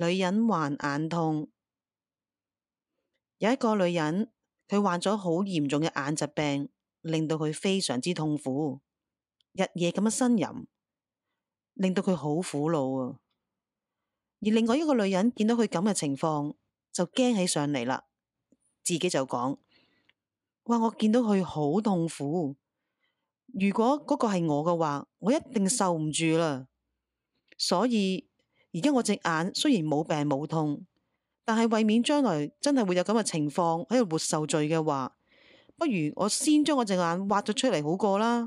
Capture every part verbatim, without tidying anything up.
女人患眼痛。有一個女人，佢患咗好嚴重嘅眼疾病，令到佢非常之痛苦，日夜咁樣呻吟，令到佢好苦惱啊。而另外一個女人見到佢咁嘅情況，就驚起上嚟啦，自己就講：哇！我見到佢好痛苦，如果嗰個係我嘅話，我一定受唔住啦。所以而家我隻眼雖然冇病冇痛，但係為免將來真係會有咁嘅情況喺度活受罪嘅話，不如我先將我隻眼挖咗出嚟好過啦。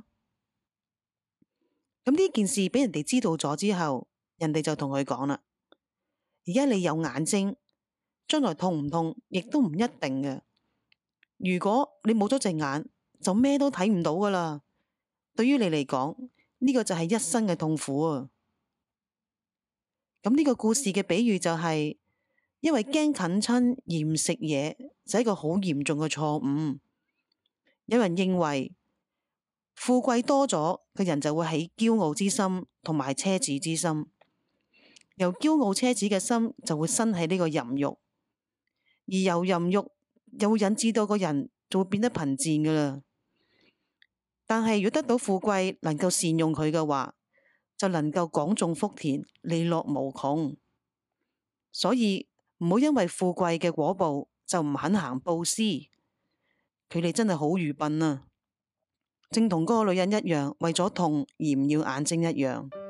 咁呢件事俾人哋知道咗之後，人哋就同佢講啦：而家你有眼睛，將來痛唔痛亦都唔一定嘅。如果你冇咗隻眼，就咩都睇唔到噶啦。對於你嚟講，呢個就係一生嘅痛苦啊。咁呢個故事嘅比喻就係，因為驚近親而唔食嘢，就係一個好嚴重嘅錯誤。有人認為富貴多咗，個人就會起驕傲之心同埋奢侈之心，由驕傲奢侈嘅心就會生起呢個淫慾，而由淫慾又會引致到個人就會變得貧賤噶啦。但係如果得到富貴，能夠善用佢嘅話，就能夠廣種福田，利樂無窮。所以唔好因為富貴嘅果報就唔肯行布施，佢哋真係好愚笨啊！正同嗰個女人一樣，為咗痛而唔要眼睛一樣。